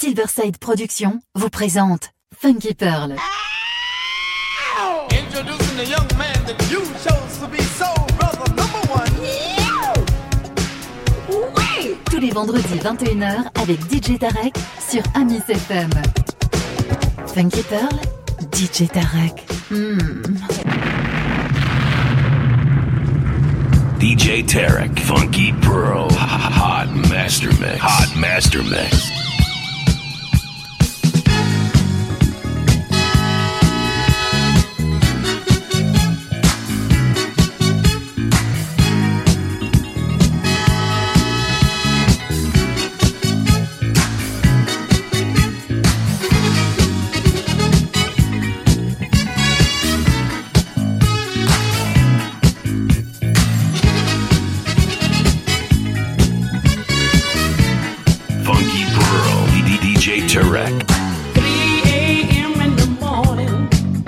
Silverside Productions vous présente Funky Pearl. Introducing the young man that you chose to be soul brother number one. Ouais. Tous les vendredis 21h avec DJ Tarek sur Amis FM. Funky Pearl, DJ Tarek. DJ Tarek, Funky Pearl, Hot Master Mix. Hot Master Mix. DJ Tarek. 3 a.m. in the morning,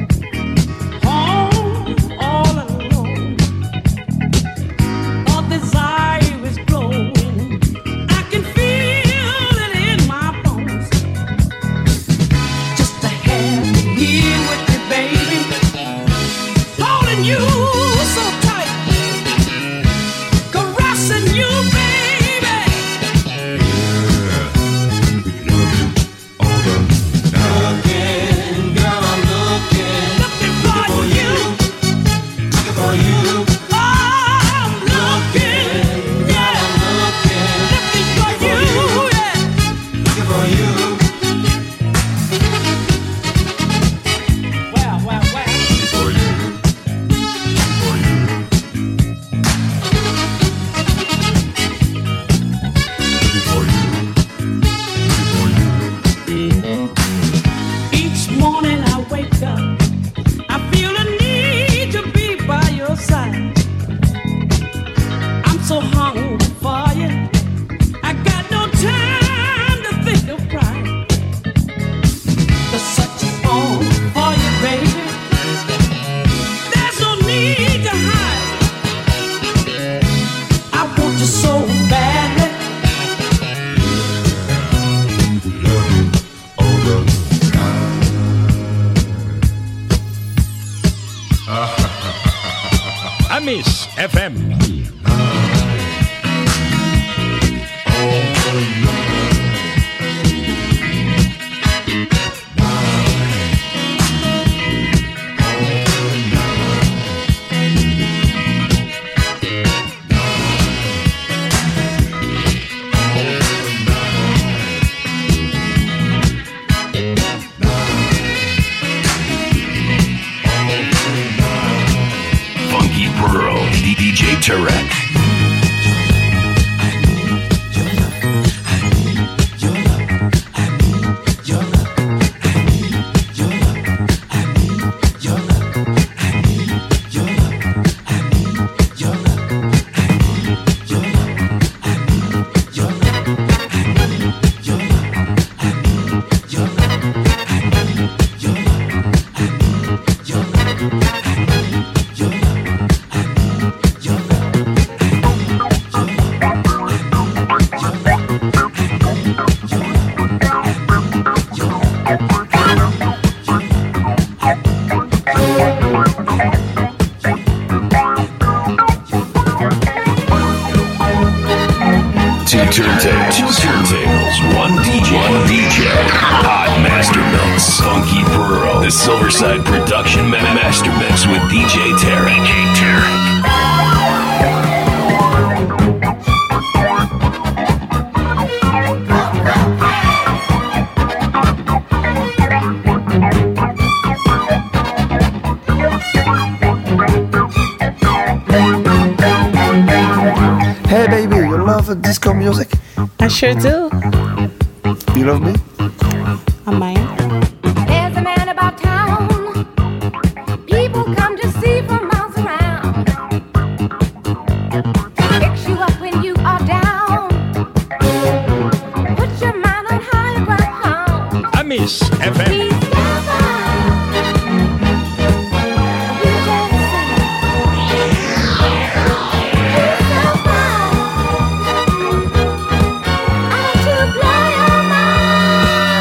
home all alone. All desire is growing. I can feel it in my bones. Just to have you here with me, baby, holding you so tight, caressing you, baby. Amis FM. DJ Tarek. Turntables, one DJ, Hot Master Mix, Funky Pearl, the Silverside Production Master Mix with DJ Tarek. Hey baby, you love disco music? I sure do. You love me? I might. There's a man about town. People come to see from miles around. Picks you up when you are down. Put your mind on higher ground. Amis FM. To blow your mind.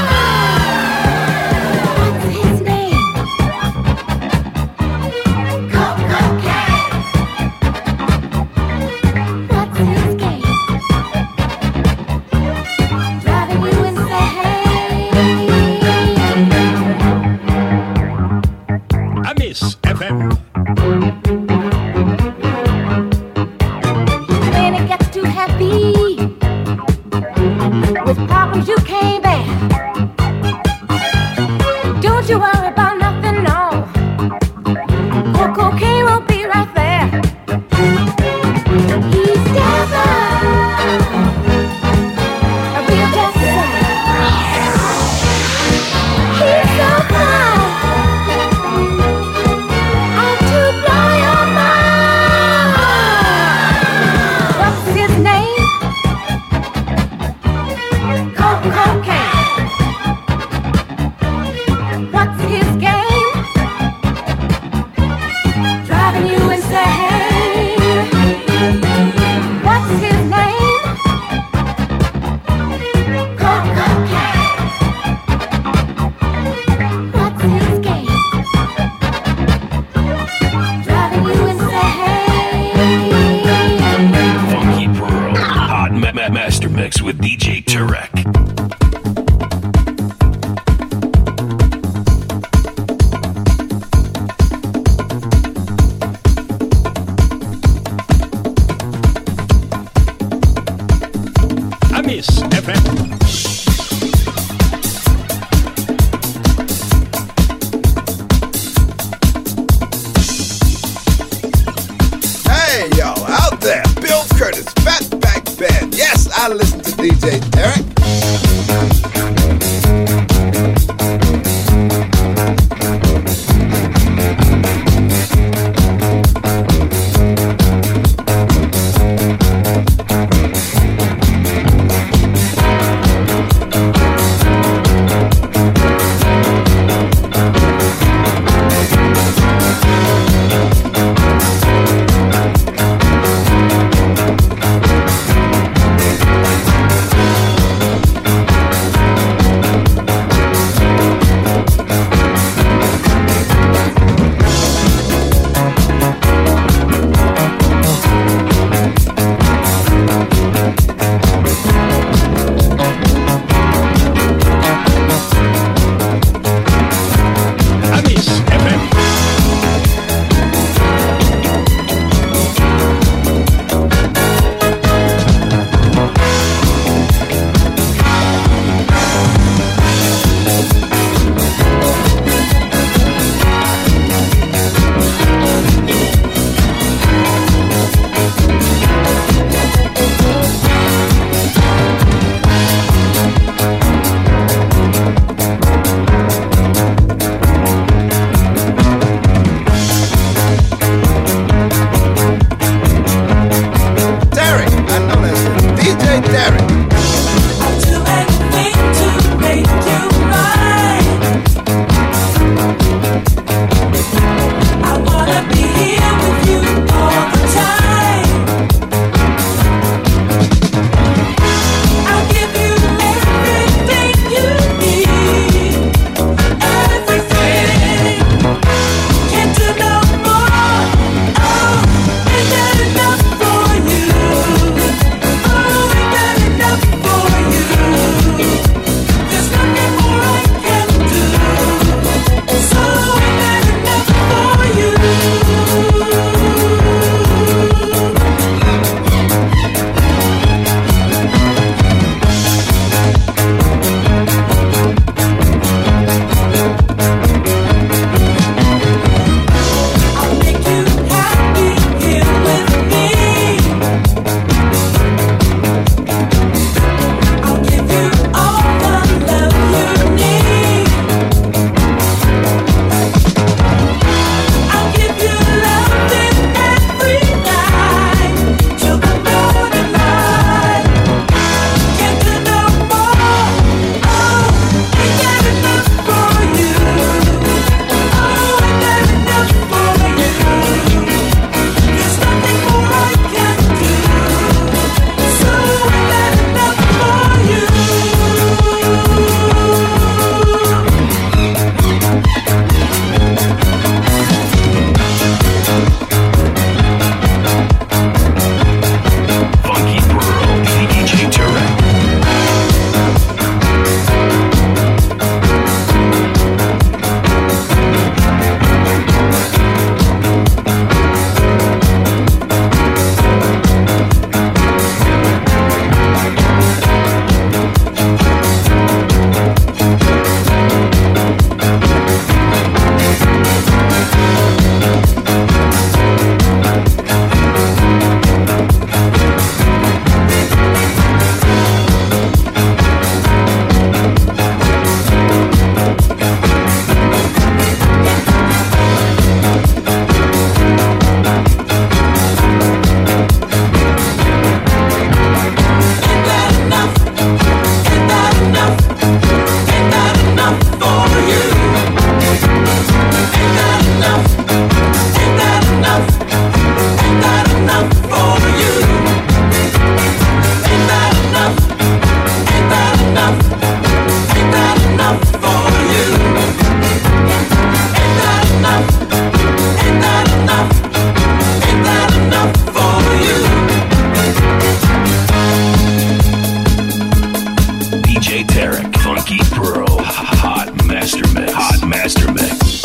Funky Pearl. Hot Master Mix. Hot Master Mix.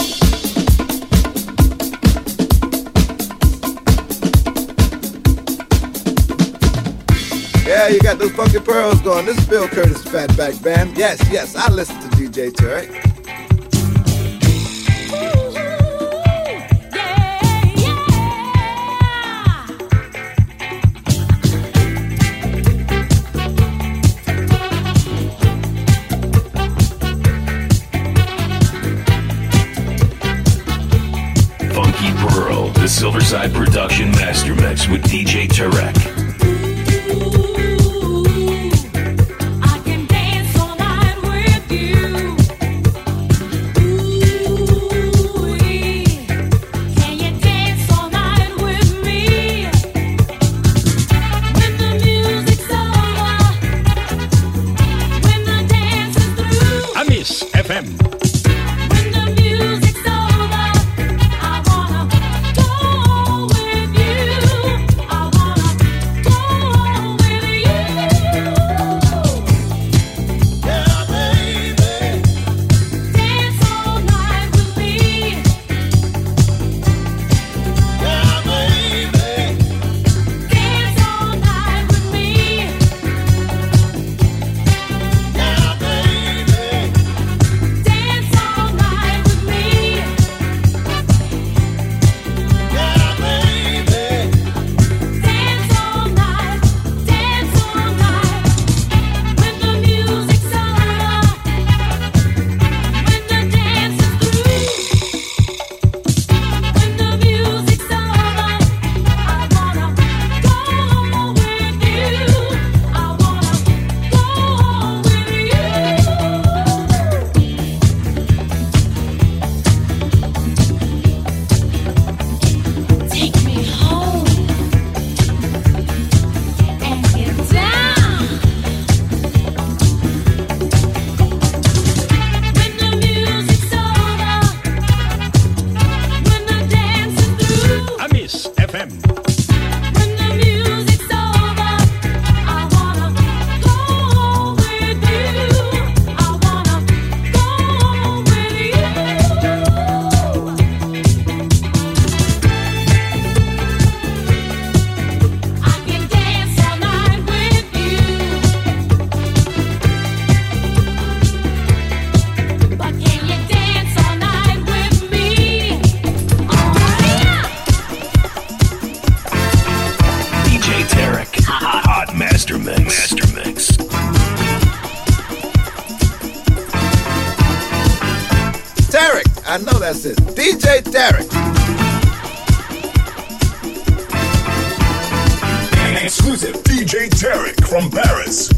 Yeah, you got those funky pearls going. This is Bill Curtis Fatback Band. Yes, yes, I listen to DJ Tarek. Funky Pearl, the Silverside Production Master Mix with DJ Tarek. I know that's it. DJ Tarek. An exclusive DJ Tarek from Paris.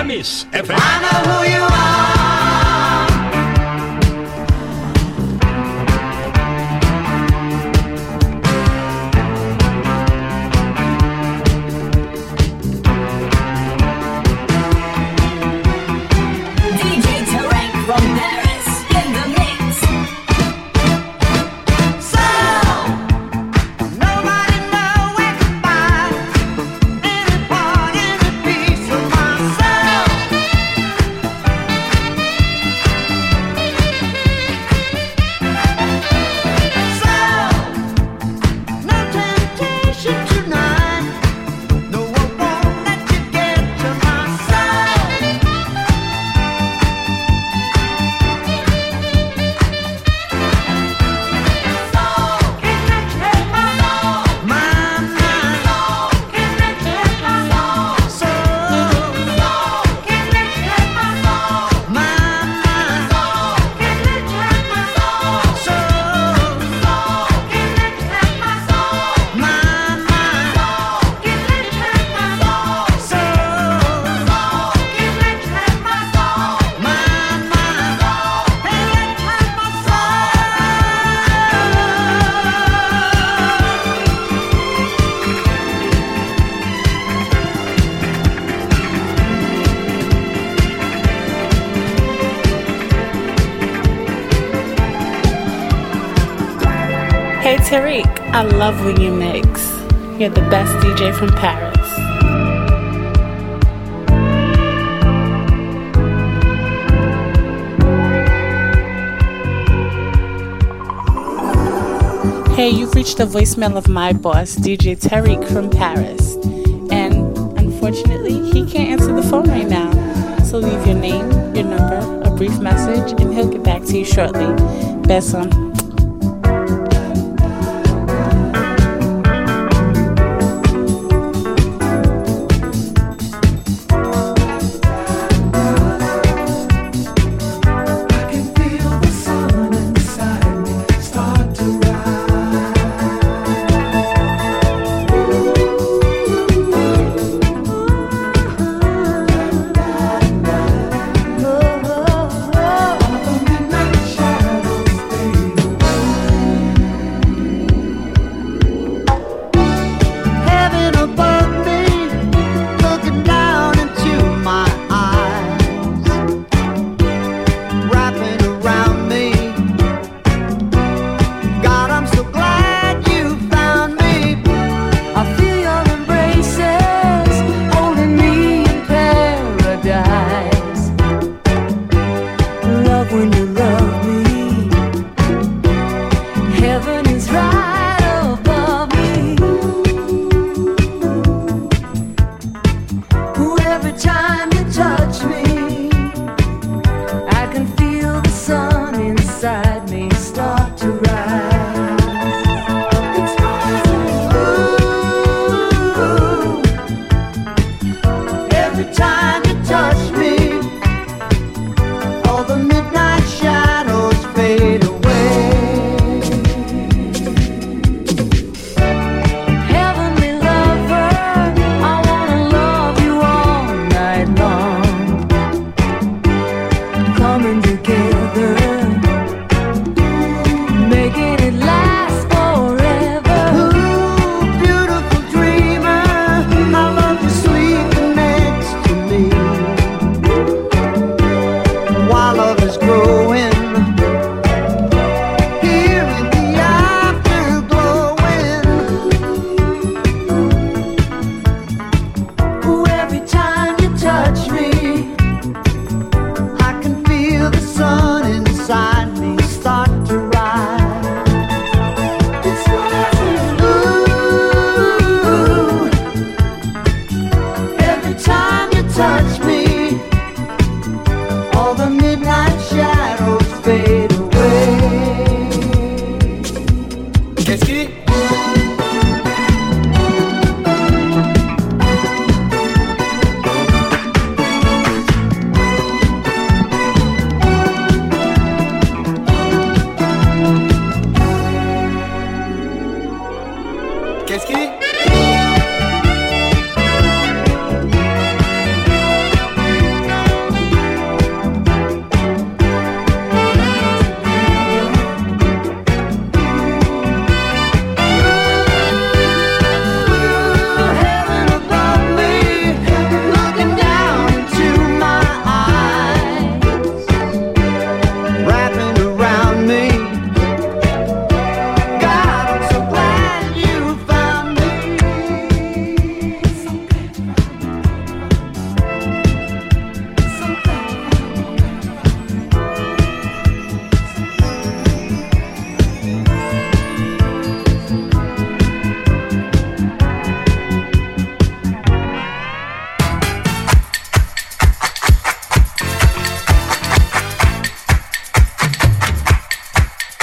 Amis FM. I know who you are. DJ Tarek from Paris in the mix. So nobody know where to find any part, any piece of my soul. So no temptation tonight. No, I won't let you get to my soul. Hey Tariq, I love when you mix. You're the best DJ from Paris. Hey, you've reached the voicemail of my boss, DJ Tariq from Paris. And unfortunately, he can't answer the phone right now. So leave your name, your number, a brief message, and he'll get back to you shortly. Beso. Shadows fade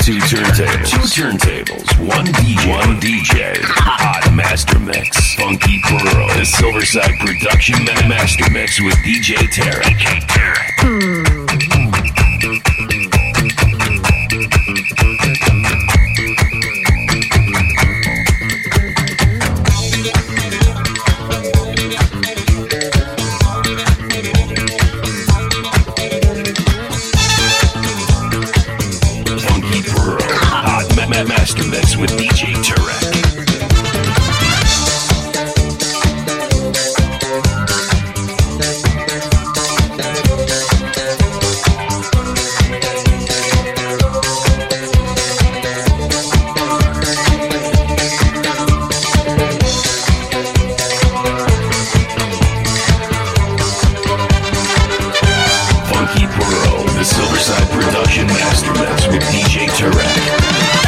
Two turntables, one DJ, hot master mix, Funky Pearl, the Silverside Production Master Mix with DJ Tarek. Master Mix with DJ Tarek. Funky Pearl, the Silverside Production Master Mix with DJ Tarek.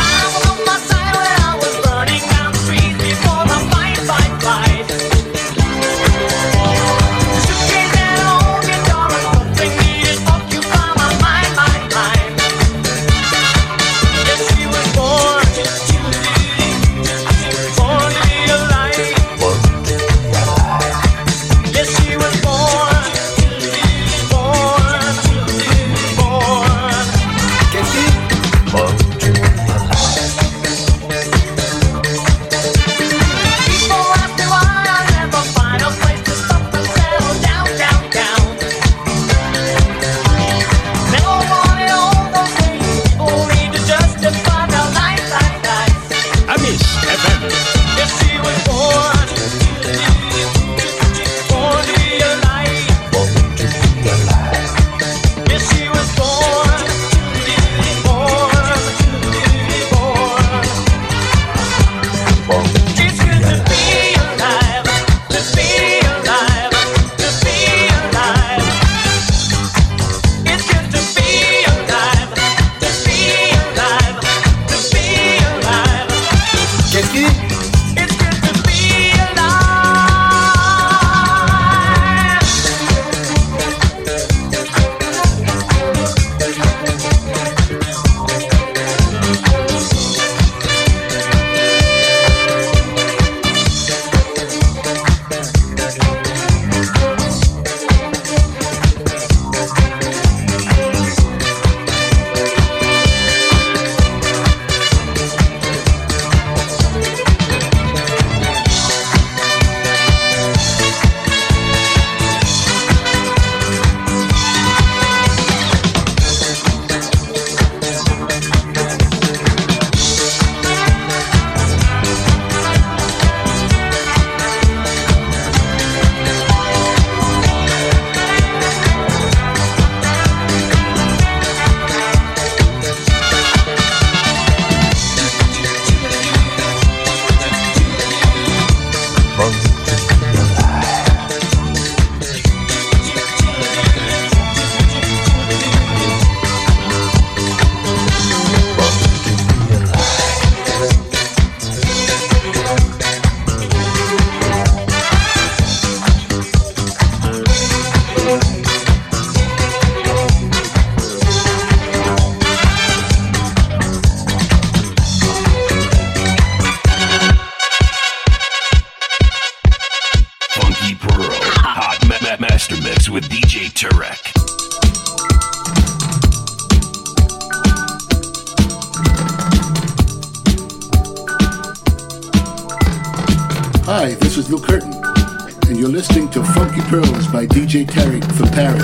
Hi, this is Lou Curtin, and you're listening to Funky Pearls by DJ Tarek from Paris.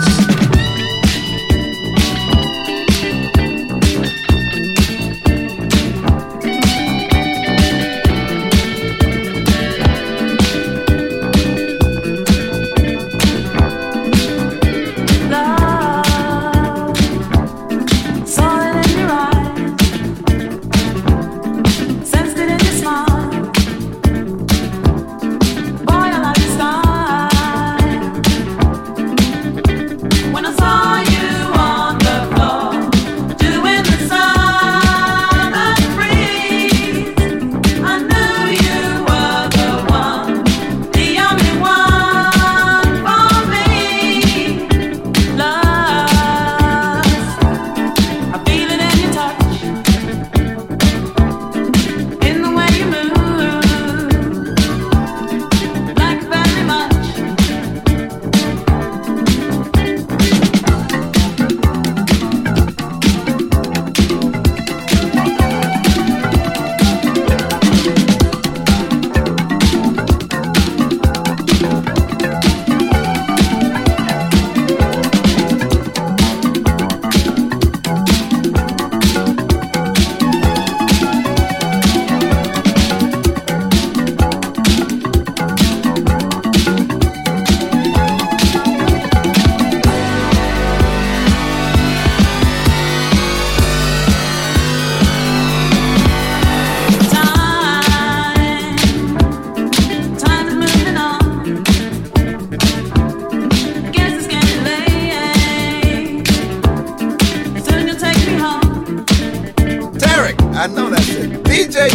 Boy, I like your style.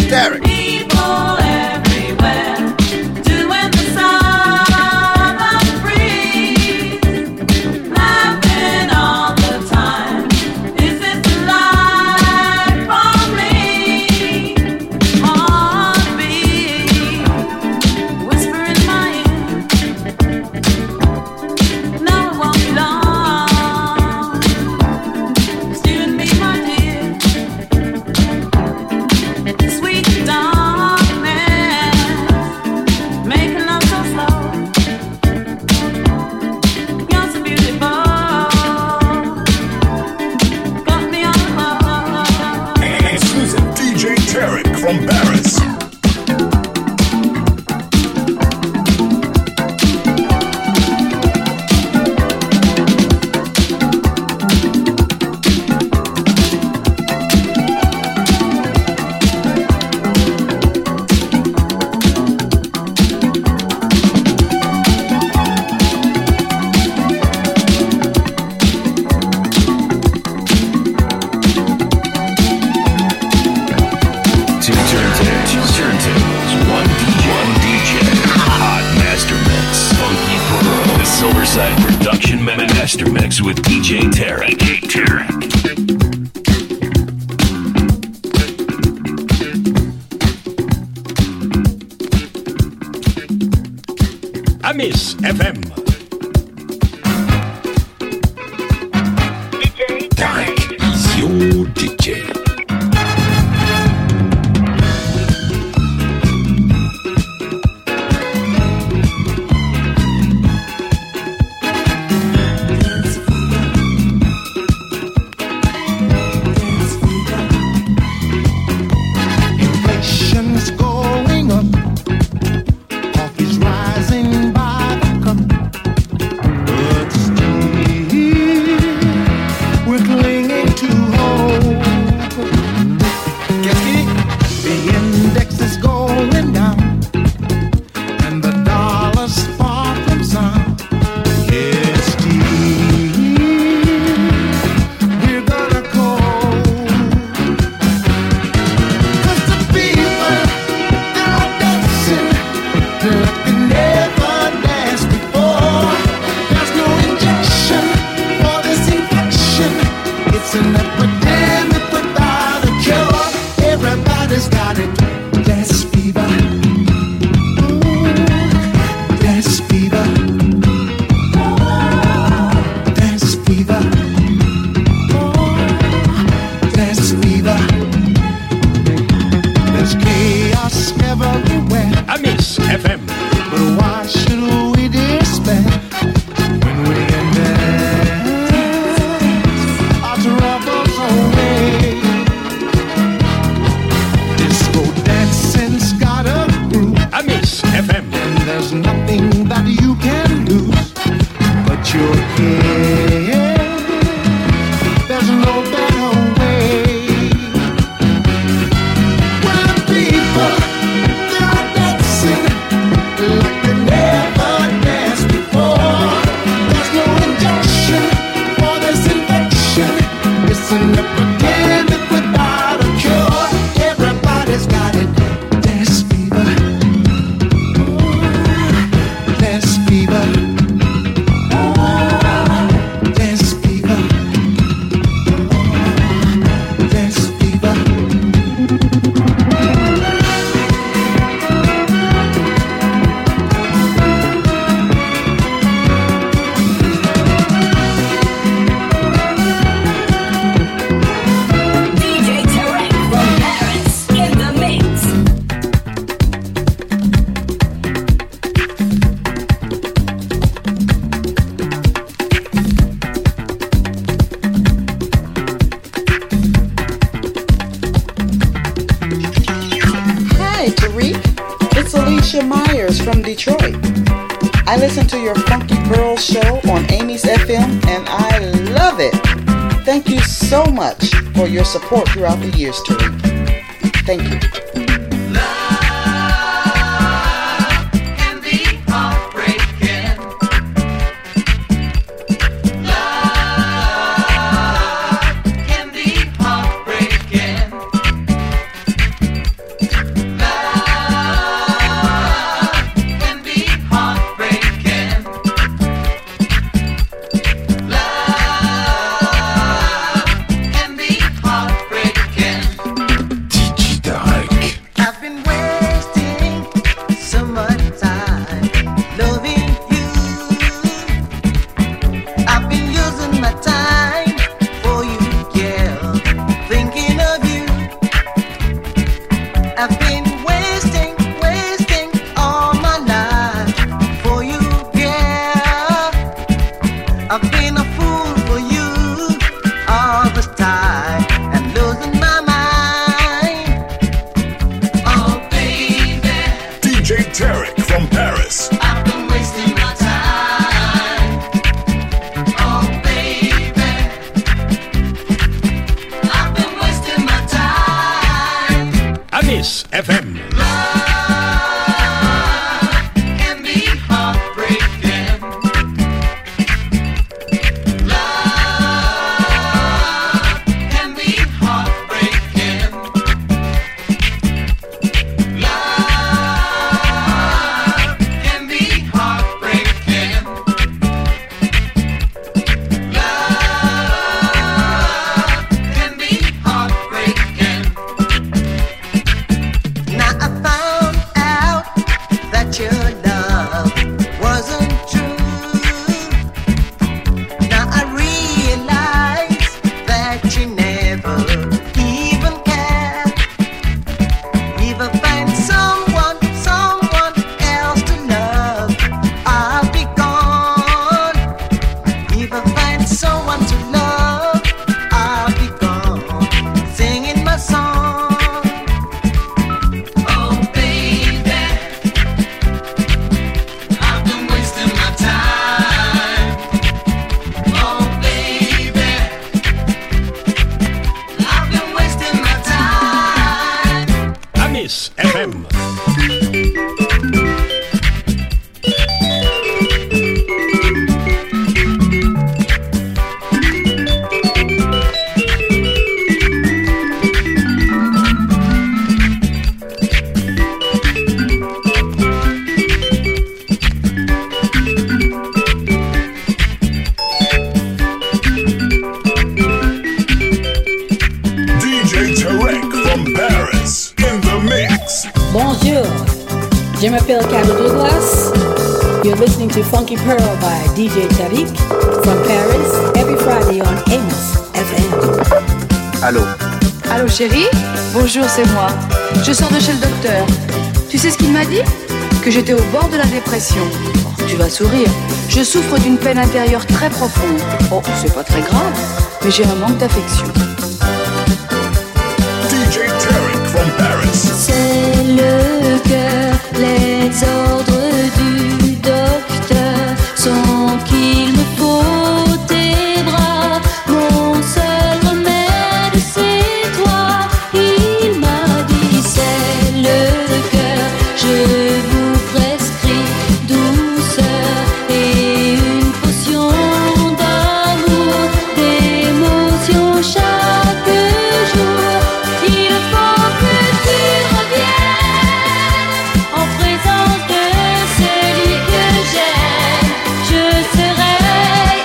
Tarek. People everywhere doing the summer breeze, laughing all the time. Is this life for me? Heartbeat, whisper in my ear. No, it won't be long. Just you and me, my dear. Sweet darkness, making love so slow. You're so beautiful, got me on the floor. Exclusive DJ Tarek from Paris. Two turntables, one DJ, hot master mix, Funky Pearl, the Silverside Production Master Mix with DJ Tarek. Amis FM. Tarek is your DJ. Inflation's going up, coffee's rising by the cup, but still we're clinging to hope. The index is going down, and the dollar's far from sound. Yes, still we're gonna call. 'Cause the people, they're dancing like they never danced before. There's no injection for this infection. It's an epidemic without a cure. Everybody's got it. Dance fever. Ooh, dance fever. Dance fever. Oh, dance fever. There's chaos everywhere, Amis FM. but why should we despair when we can dance our troubles away? Disco dancing's got a groove, Amis FM. and there's nothing that you can lose but your head. There's no better way. When the people, they're dancing like they never danced before. There's no injection for this infection. It's an epidemic without a cure. Everybody's got it. Dance fever. Dance fever. Dance fever. Dance fever. DJ Tarek from Paris in the mix. Hi, Tariq. It's Alicia Myers from Detroit. I listen to your Funky Pearl show on Amy's FM, and I love it. Thank you so much for your support throughout the years, Tariq. Thank you. Can be heartbreaking. Love can be heartbreaking. been a fool for you all this time and losing my mind. Oh baby, DJ Tarek from Paris. I've been wasting my time. Oh baby, I've been wasting my time. Amis FM. Je m'appelle Carol Douglas. You're listening to Funky Pearl by DJ Tarek from Paris every Friday on Amos FM. Allô? Allô chérie? Bonjour, c'est moi. Je sors de chez le docteur. Tu sais ce qu'il m'a dit? Que j'étais au bord de la dépression. Oh, tu vas sourire. Je souffre d'une peine intérieure très profonde. Oh, c'est pas très grave, mais j'ai un manque d'affection. DJ Tarek from Paris. C'est le cœur, les ordres du docteur sont qu'il me faut tes bras. Mon seul remède c'est toi. Il m'a dit c'est le cœur, je vous prescris douceur et une potion d'amour, d'émotion chaque jour. Il faut que tu reviennes en présence de celui que j'aime. Je serai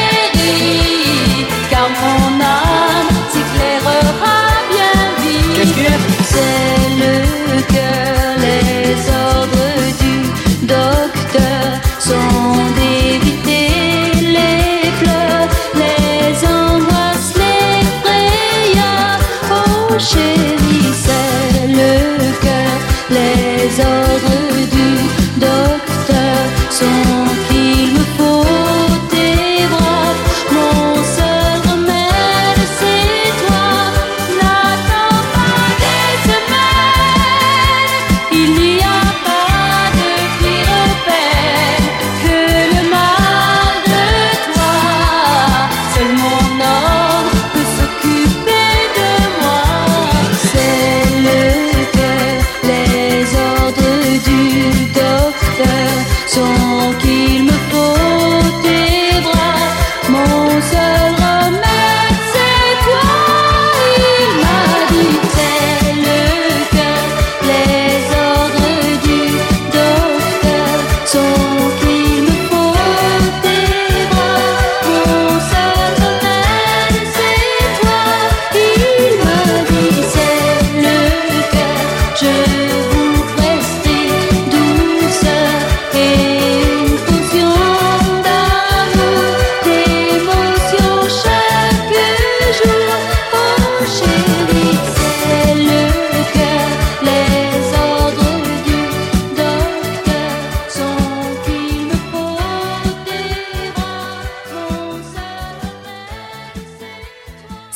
guérie, car mon âme s'éclairera bien vite. C'est le cœur, les ordres du docteur sont d'éviter les pleurs, les angoisses, les frayeurs. Oh chérie, c'est le cœur, les ordres du docteur sont qu'il me faut tes bras. Mon seul remède c'est toi. N'attends pas des semaines, il n'y a pas de pire peine que le mal de toi. Seul mon homme peut s'occuper de moi. C'est le cœur, les ordres du docteur sont qu'il me faut tes bras. Mon seul remède c'est toi. Il m'a dit c'est le cœur, les ordres du docteur sont qu'il me faut tes bras. Mon seul remède c'est toi. Il m'a dit c'est le cœur, je vous prescris douceur et une potion d'amour, d'émotion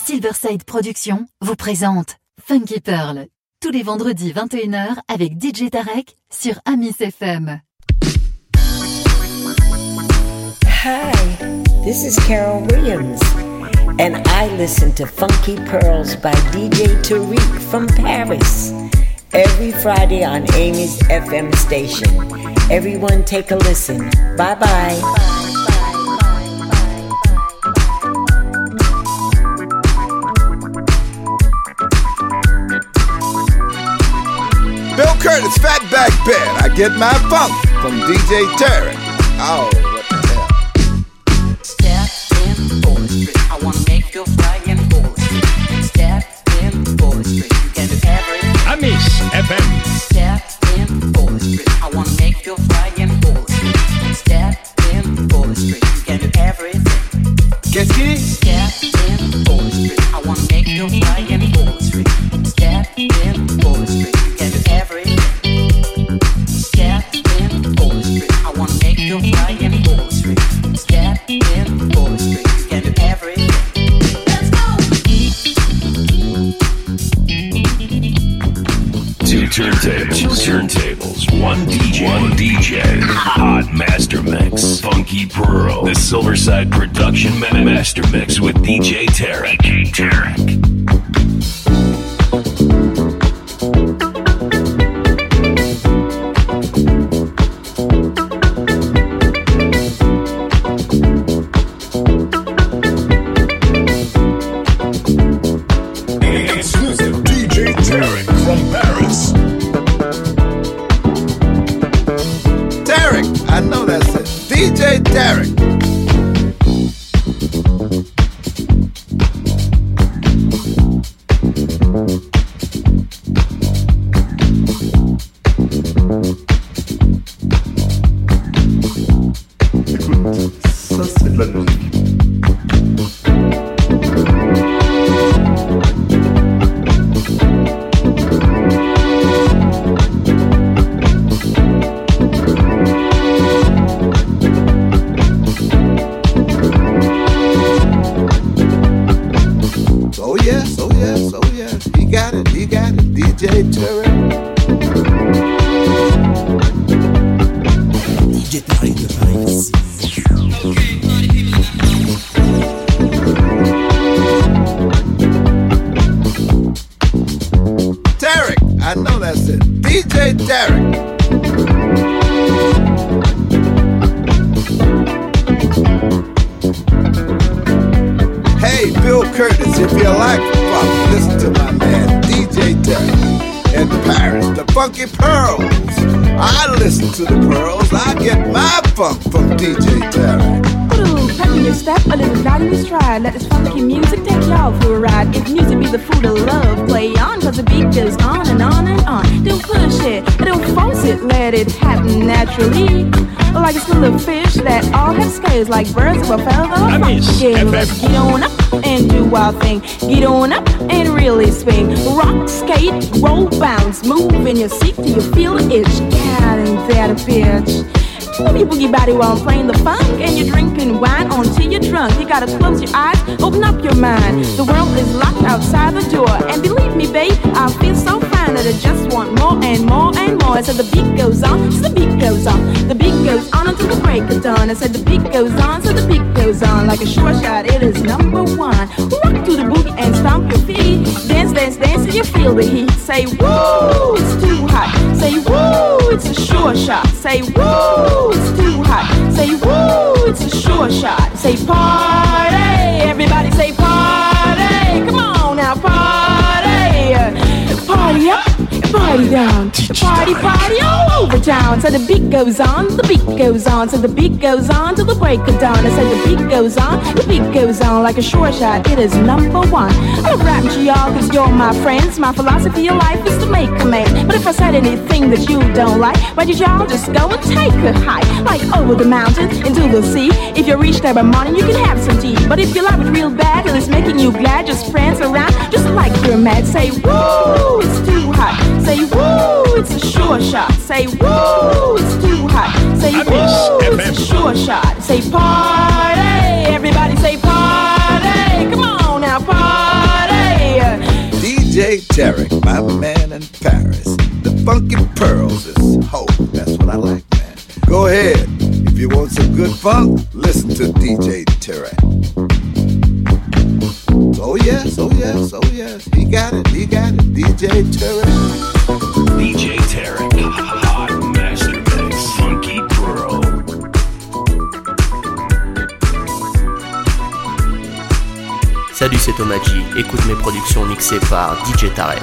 Silverside Productions vous présente Funky Pearl, tous les vendredis 21h avec DJ Tarek sur Amis FM. Hi, this is Carol Williams, and I listen to Funky Pearls by DJ Tariq from Paris every Friday on Amy's FM station. Everyone take a listen. Bye-bye. Bill Curtis, Fatback Band. I get my funk from DJ Tarek. Oh, what the hell? Step in poetry. I wanna make you fly in poetry. Step in poetry. You can do everything. Amis FM. Step in poetry. I wanna make you fly in poetry. Step in poetry. You can do everything. Qu'est-ce qu'il dit? Step in poetry. I wanna make you fly in poetry. Step in poetry. You can do everything. Step in poetry. I wanna make you fly in poetry. Step in poetry. You can do everything. Let's go. Two turntables, one DJ, hot master mix, Funky Pearl, the Silverside Production Master Mix with DJ Tarek. Exclusive DJ Tarek from Paris. Tarek, I know that's it. DJ Tarek. Écoute, ça c'est de la musique. Oh yes, oh yes, oh yes. He got it, DJ Tarek. DJ Tarek de Paris. Tarek, I know that's it. DJ Tarek. Hey, Bill Curtis, if you like funk, listen to my man DJ Tarek in Paris, the Funky Pearls. I listen to the Pearls, I get my funk from DJ Tarek. Ooh, pep in your step, a little glide in your stride. Let this funky music take y'all for a ride. If music be the food of love, play on, cause the beat goes on and on and on. Don't push it, don't force it, let it happen naturally. Like a school of fish that all have scales, like birds of a feather. Yeah, let's get on up and do our thing. Get on up and really swing. Rock, skate, roll, bounce, move in your seat till you feel the itch. God, ain't that a bitch? Move your boogie body while I'm playing the funk, and you're drinking wine until you're drunk. You gotta close your eyes, open up your mind. The world is locked outside the door, and believe me, babe, I feel so fine that I just want more and more and more. So the beat goes on, so the beat goes on, the beat goes on until the break of dawn. I said the beat goes on, so the beat goes on. Like a short shot, it is number one. Rock to the boogie and stomp your feet. Dance, dance, dance till you feel the heat. Say woo, it's too hot. Say woo, it's a sure shot. Say woo, it's too hot. Say woo, it's a sure shot. Say party, everybody say party. Come on now, party. Party up, party down. Party, party all over town. So the beat goes on, the beat goes on. So the beat goes on till the break of dawn. I said the beat goes on, the beat goes on. Like a sure shot, it is number one. I'm rapping to y'all cause you're my friends. My philosophy of life is to make a man. But if I said anything that you don't like, why did y'all just go and take a hike? Like over the mountain, into the sea. If you reach there by morning, you can have some tea. But if you love it real bad and it's making you glad, just prance around just like you're mad. Say woo, it's too hot. Say woo, it's a sure shot. Say woo, it's too hot. Say woo, it's a sure shot. Say party, everybody say party. Come on now, party. Tarek, my man in Paris. The Funky Pearls is hope. That's what I like, man. Go ahead. If you want some good funk, listen to DJ Tarek. Oh yes, oh yes, oh yes. He got it, DJ Tarek. DJ Tarek, Hot Master Mix, Funky Pearl. Salut, c'est Thomas G. Écoute mes productions mixées par DJ Tarek.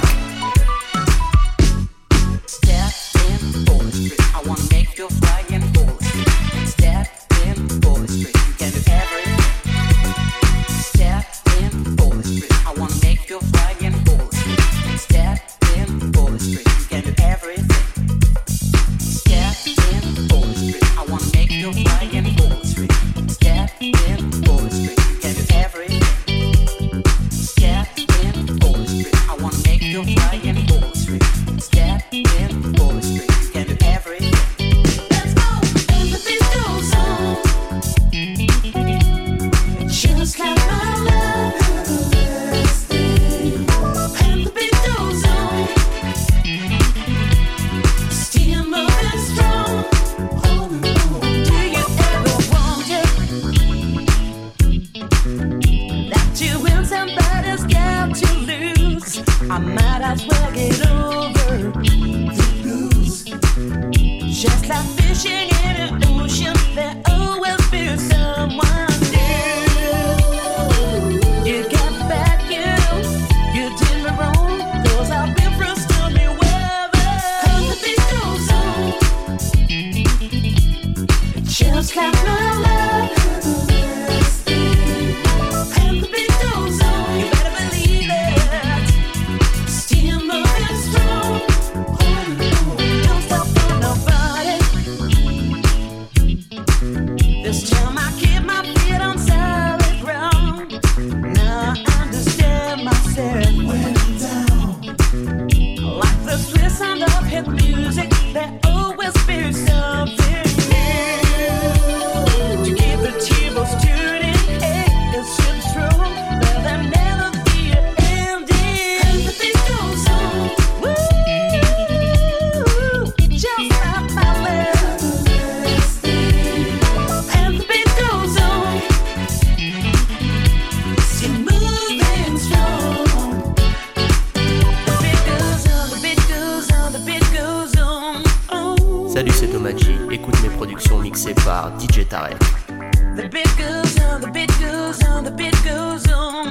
Salut, c'est Thomas G. Écoute mes productions mixées par DJ Tarek. The beat goes on, the beat goes on, the beat goes on.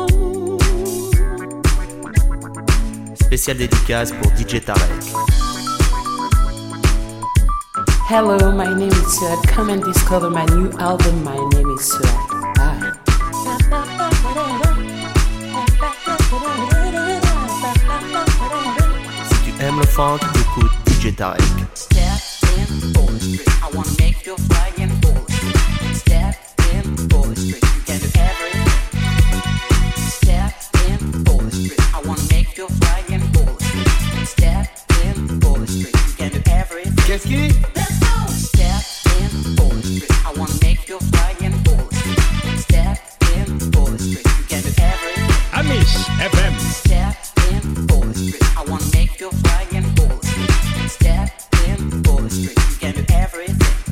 Oh. Spéciale dédicace pour DJ Tarek. Hello, my name is Suad. Come and discover my new album. My name is Suad. Bye. Si tu aimes le funk, écoute DJ Tarek. I wanna make you fly in poetry. Step in poetry. You can do everything. Step in poetry. I wanna make you fly in poetry. Step in poetry. You can do everything. Qu'est-ce qui? Let's go. Step in poetry. I wanna make you fly in poetry. Step in poetry. You can do everything. Amish FM. Step in poetry. I wanna make you fly in poetry. Step in poetry. You can do everything.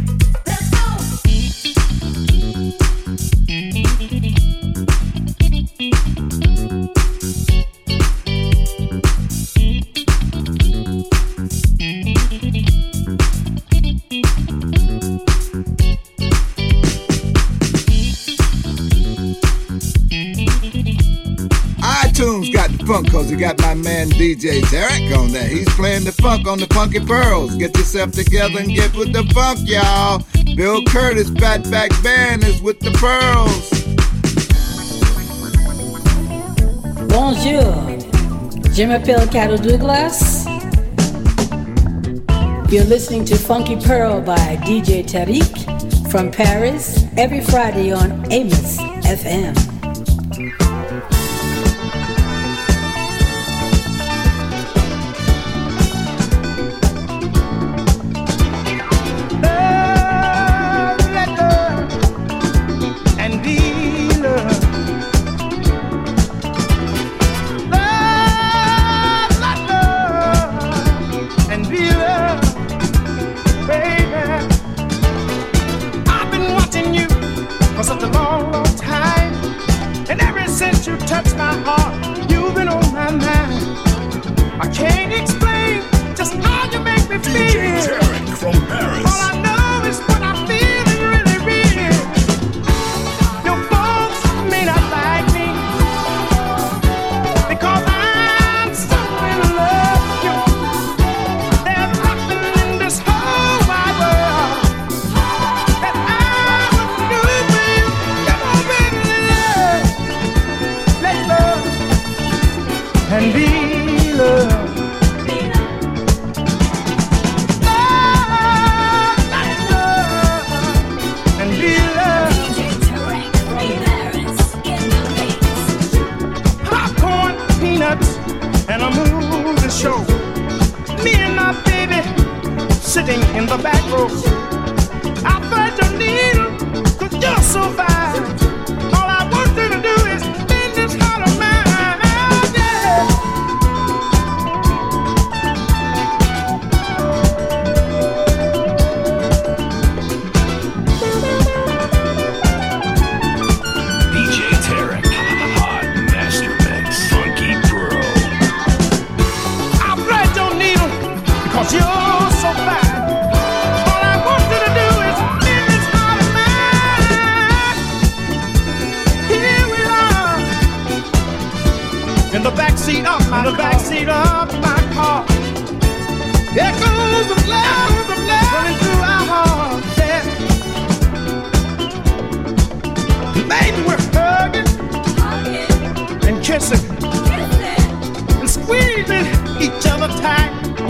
iTunes got the funk cause you got my man DJ Tarek on there. He's playing the funk on the Funky Pearls. Get yourself together and get with the funk, y'all. Bill Curtis Fatback Band is with the Pearls. Bonjour, je m'appelle Carol Douglas. You're listening to Funky Pearl by DJ Tarek from Paris every Friday on Amos FM. Love show. Me and my baby sitting in the back row. I thread your needle, 'cause you're so fine. All I want you to do is bend this heart of mine, yeah. DJ Tarek, Hot Master Mix, Funky Pearl. I thread your needle, 'cause you're so fine. All I want you to do is bend this heart of mine. Here we are, in the backseat of my car. There goes the blood running through our hearts, yeah. Baby, we're hugging and kissing and squeezing each other tight.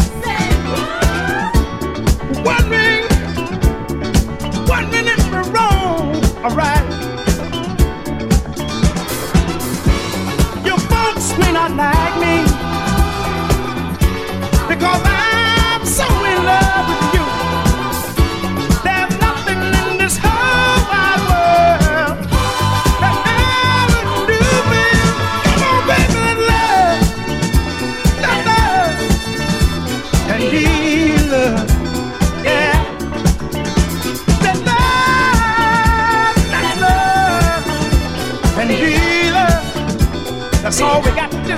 Wondering if we're wrong or right. Your folks may not like me because I'm so in love with you. There's nothing in this whole wide world that I would do, baby. Come on, baby, love, and need love, yeah. That love, and need love. That's all we got to do.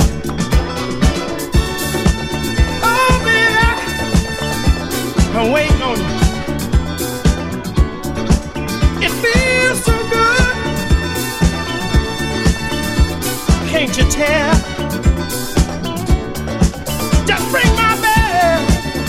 Oh, baby, I'm waiting on you. It feels so good. Can't you tell? Just ring my bell.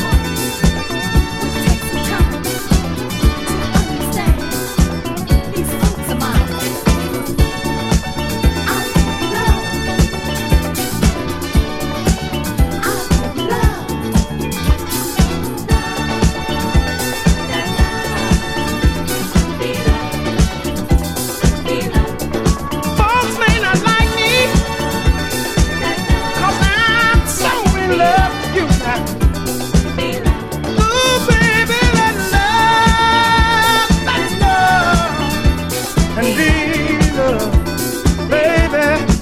Folks may not like me 'cause I'm so in love with you now. Ooh, baby, let's love, and be love, baby.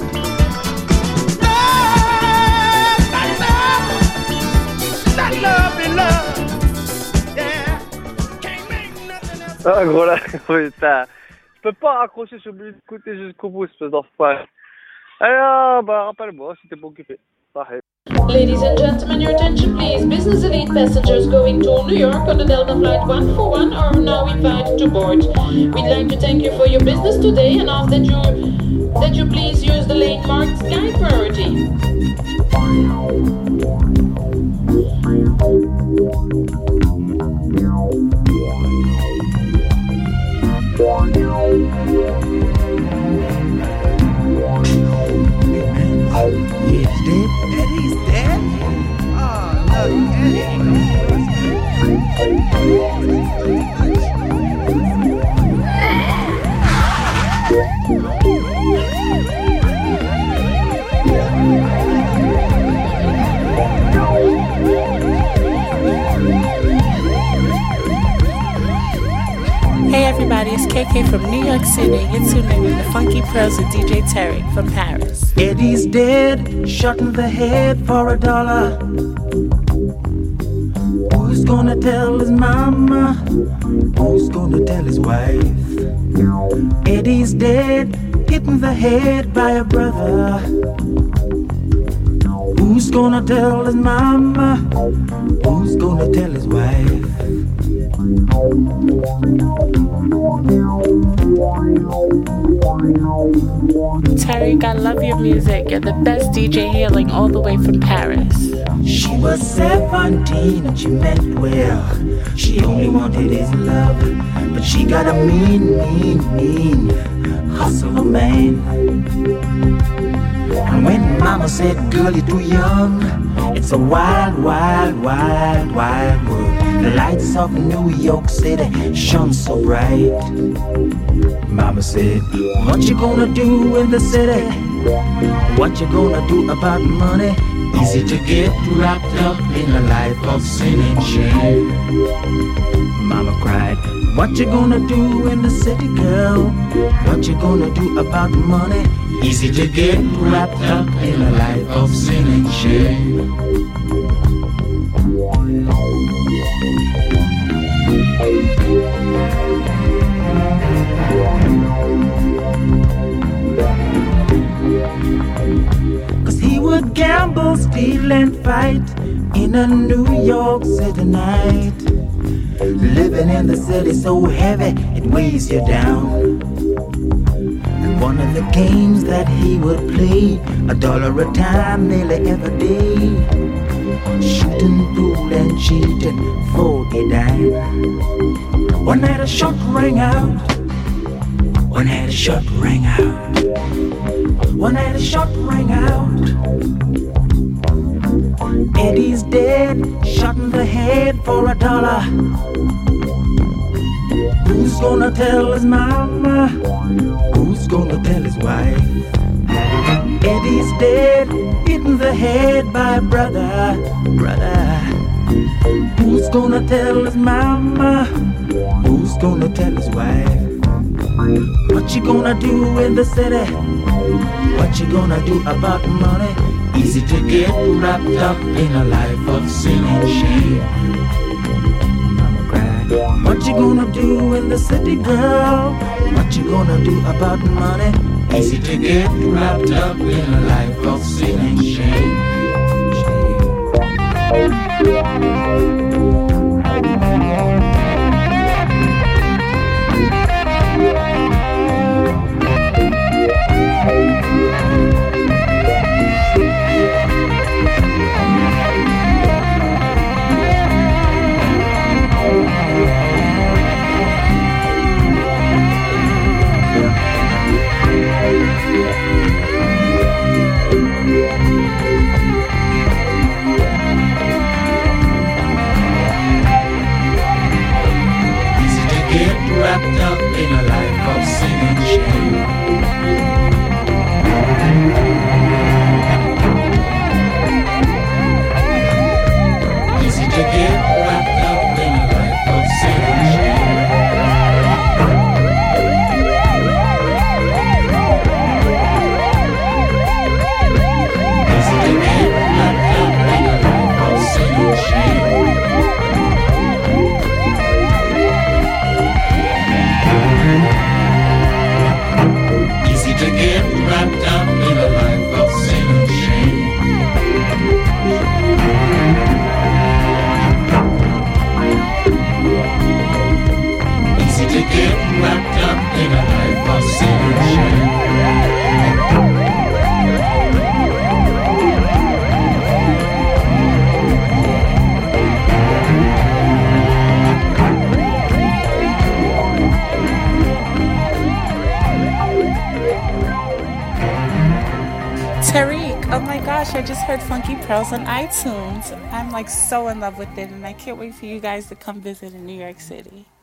Love, be love, yeah. Can't make nothing else. Ah, gros là, putain. Je peux pas raccrocher, je suis obligé d'écouter jusqu'au bout, espèce d'enfoiré. Alors, bah, rappelle-moi si t'es pas occupé. Pareil. Ladies and gentlemen, your attention please. Business elite passengers going to New York on the Delta Flight 141 are now invited to board. We'd like to thank you for your business today and ask that you please use the lane marked Sky Priority. He's dead? Eddie's dead? Oh, no, Hey everybody, it's KK from New York City. You're tuned in with the Funky Pearls with DJ Tarek from Paris. Eddie's dead, shot in the head for $1. Who's gonna tell his mama? Who's gonna tell his wife? Eddie's dead, hit in the head by a brother. Who's gonna tell his mama? Who's gonna tell his wife? Tarek, I love your music. You're the best DJ hailing all the way from Paris. She was 17 and she meant well. She only wanted his love, but she got a mean hustler man. And when mama said, girl, you're too young, it's a wild world. The lights of New York City shone so bright. Mama said, what you gonna do in the city? What you gonna do about money? Easy to get wrapped up in a life of sin and shame. Mama cried, what you gonna do in the city, girl? What you gonna do about money? Easy to get wrapped up in a life of sin and shame. Cause he would gamble, steal and fight in a New York City night. Living in the city so heavy it weighs you down. And one of the games that he would play, $1 a time nearly every day. Shooting pool and cheating for a dime. One night a shot rang out. One night a shot rang out. One night a shot rang out. Eddie's dead, shot in the head for $1. Who's gonna tell his mama? Who's gonna tell his wife? Eddie's dead, hit in the head by a brother. Who's gonna tell his mama? Who's gonna tell his wife? What you gonna do in the city? What you gonna do about money? Easy to get wrapped up in a life of sin and shame. Mama cried, what you gonna do in the city, girl? What you gonna do about money? Easy to get wrapped up in a life of sin and shame. Wrapped up in a life of sin and shame. Easy to get wrapped up in a life of sin and shame. Easy to get wrapped up in a life of sin and shame. Easy to get wrapped up in a life of sin and shame. Easy to get wrapped up in a life of sin and shame. Tariq, oh my gosh, I just heard Funky Pearls on iTunes. I'm like so in love with it, and I can't wait for you guys to come visit in New York City.